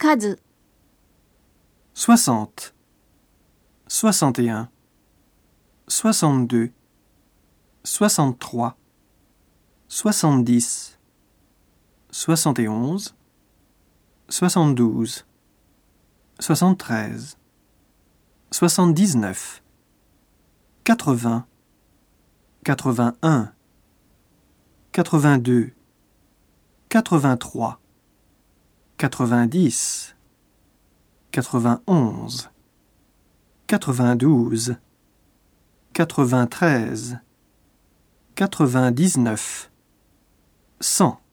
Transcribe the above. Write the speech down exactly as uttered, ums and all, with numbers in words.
数、 soixante, soixante et un, soixante-deux, soixante-trois, soixante-dix, soixante et onze, soixante-douze, soixante-treize, soixante-dix-neuf, quatre-vingts, quatre-vingt-un, quatre-vingt-deux, quatre-vingt-trois, quatre-vingt-dix, quatre-vingt-onze, quatre-vingt-douze, quatre-vingt-treize, quatre-vingt-dix-neuf, cent.